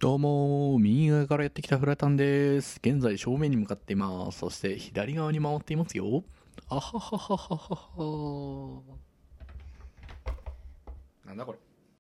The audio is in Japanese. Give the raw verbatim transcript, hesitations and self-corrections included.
どうもー、右側からやってきたフラタンです。現在正面に向かっています。そして左側に回っていますよ。あはははははは。なんだこれ。